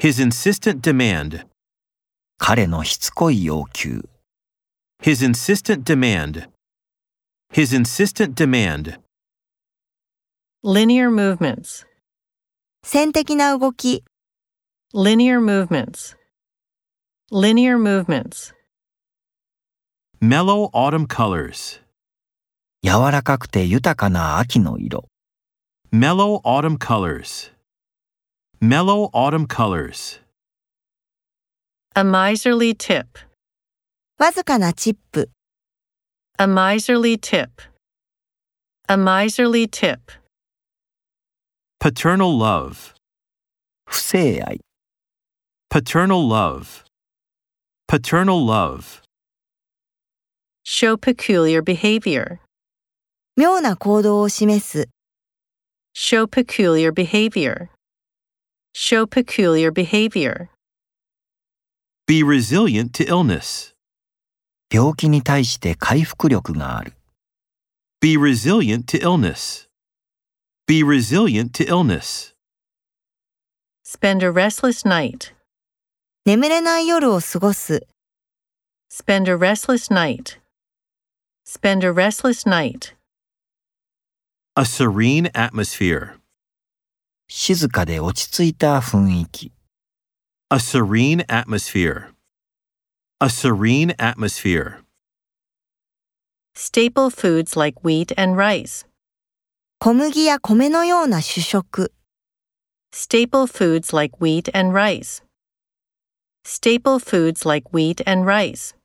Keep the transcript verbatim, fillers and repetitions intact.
His insistent demand. 彼のしつこい要求。 His insistent demand. His insistent demand. Linear movements. 線的な動き。 Linear movements. Linear movements. Mellow autumn colors. 柔らかくて豊かな秋の色。 Mellow autumn colors. Mellow autumn colors. A miserly tip. わずかなチップ。 A miserly tip. A miserly tip. Paternal love. 不正愛。 Paternal love. Paternal love. Show peculiar behavior. 妙な行動を示す。 Show peculiar behavior. Show peculiar behavior. Be resilient to illness. 病気に対して回復力がある。 Be resilient to illness. Be resilient to illness. Spend a restless night. 眠れない夜を過ごす。 Spend a restless night. Spend a restless night. A serene atmosphere. 静かで落ち着いた雰囲気。 A serene atmosphere. A serene atmosphere. Staple foods like wheat and rice. 小麦や米のような主食。 Staple foods like wheat and rice. Staple foods like wheat and rice.